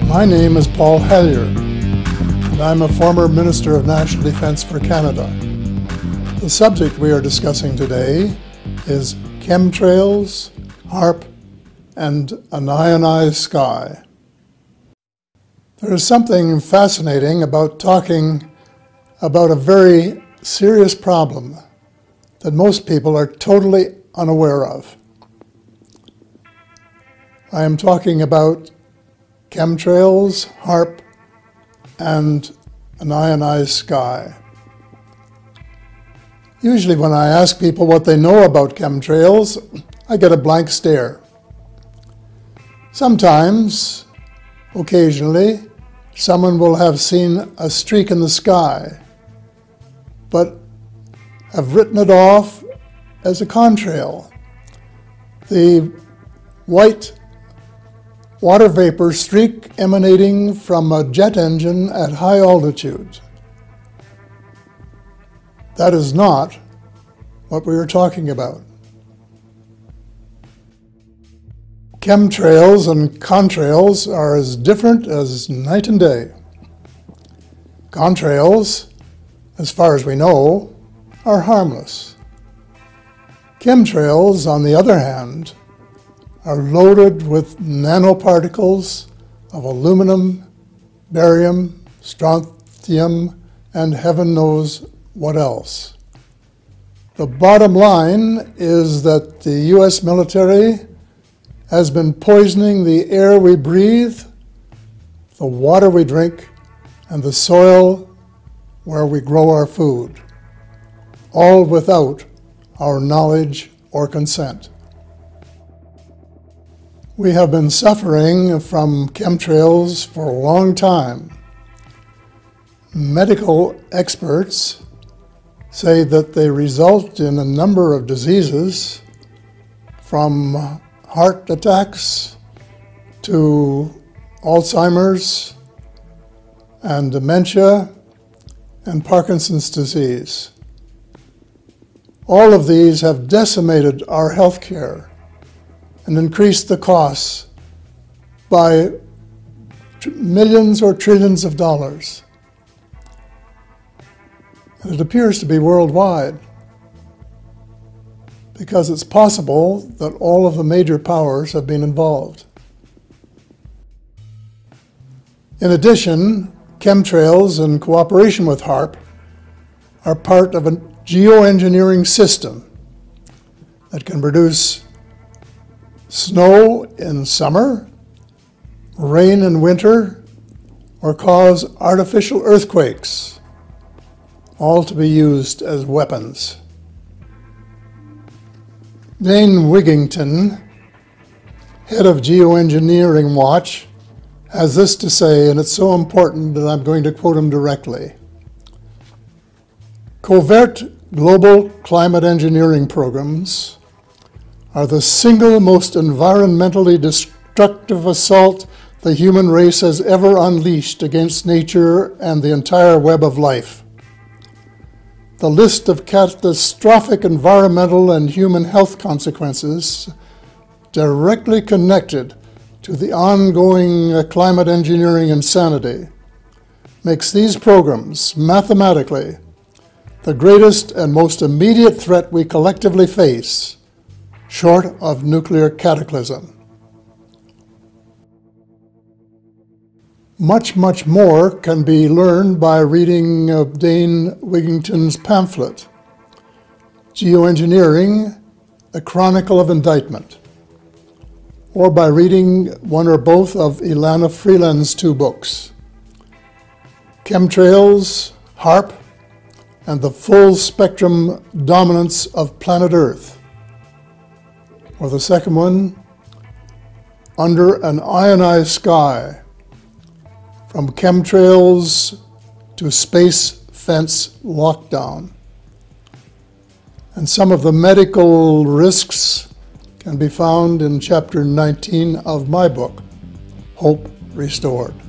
My name is Paul Hellyer, and I'm a former Minister of National Defence for Canada. The subject we are discussing today is chemtrails, HAARP, and an ionized sky. There is something fascinating about talking about a very serious problem that most people are totally unaware of. I am talking about chemtrails, HAARP, and an ionized sky. Usually when I ask people what they know about chemtrails, I get a blank stare. Sometimes, occasionally, someone will have seen a streak in the sky, but have written it off as a contrail. The white water vapor streak emanating from a jet engine at high altitude. That is not what we are talking about. Chemtrails and contrails are as different as night and day. Contrails, as far as we know, are harmless. Chemtrails, on the other hand, are loaded with nanoparticles of aluminum, barium, strontium, and heaven knows what else. The bottom line is that the U.S. military has been poisoning the air we breathe, the water we drink, and the soil where we grow our food, all without our knowledge or consent. We have been suffering from chemtrails for a long time. Medical experts say that they result in a number of diseases, from heart attacks to Alzheimer's and dementia and Parkinson's disease. All of these have decimated our health care and increased the costs by millions or trillions of dollars. And it appears to be worldwide, because it's possible that all of the major powers have been involved. In addition, chemtrails, in cooperation with HAARP, are part of a geoengineering system that can produce snow in summer, rain in winter, or cause artificial earthquakes, all to be used as weapons. Dane Wigington, head of Geoengineering Watch, has this to say, and it's so important that I'm going to quote him directly. Covert global climate engineering programs are the single most environmentally destructive assault the human race has ever unleashed against nature and the entire web of life. The list of catastrophic environmental and human health consequences directly connected to the ongoing climate engineering insanity makes these programs, mathematically, the greatest and most immediate threat we collectively face, short of nuclear cataclysm. Much, much more can be learned by reading Dane Wigington's pamphlet, Geoengineering, A Chronicle of Indictment, or by reading one or both of Ilana Freeland's two books, Chemtrails, HAARP, and the Full Spectrum Dominance of Planet Earth, or the second one, Under an Ionized Sky, From Chemtrails to Space Fence Lockdown. And some of the medical risks can be found in Chapter 19 of my book, Hope Restored.